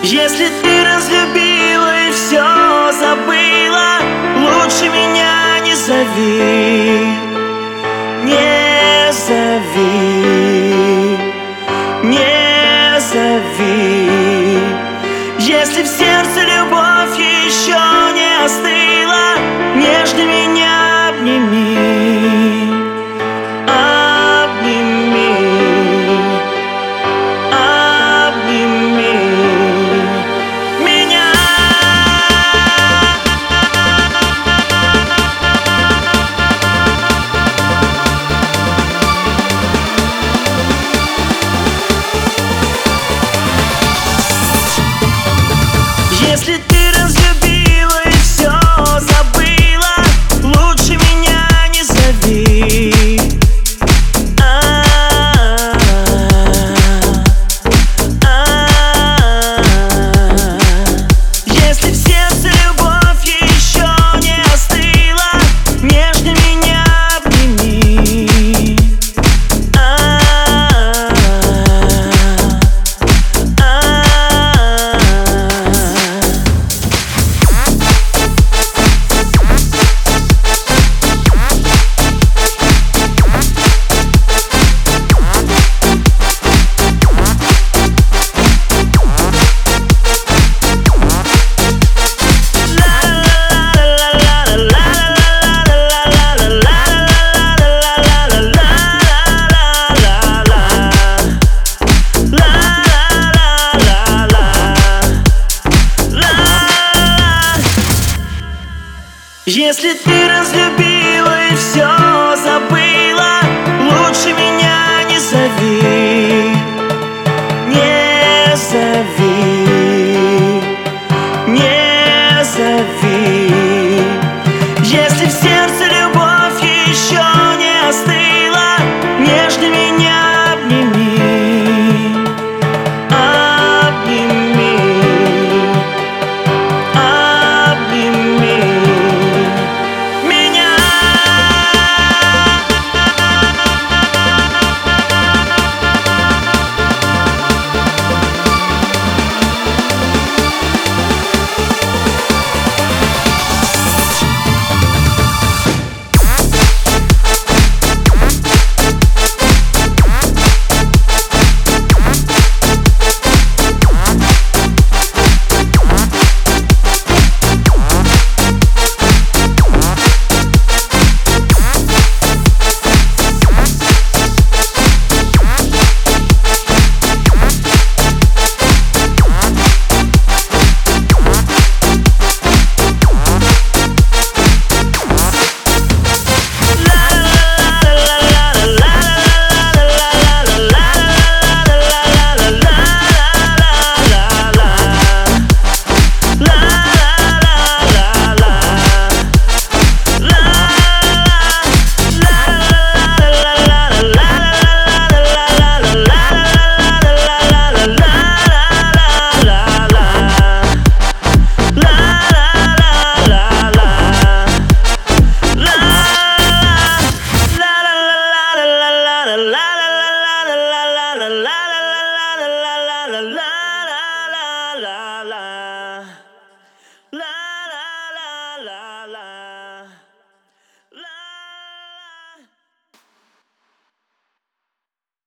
Если ты разлюбила и все забыла, лучше меня не зови, не зови, не зови. Если в сердце любовь еще не остыла, нежно меня обними, обними, обними меня. Если ты разлюбила и все забыла, лучше меня не зови. Если в сердце любовь еще не остыла, нежно меня обними. Если ты разлюбила